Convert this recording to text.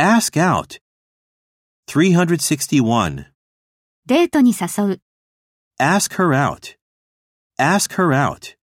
Ask out. 361. デートに誘う。 Ask her out. Ask her out.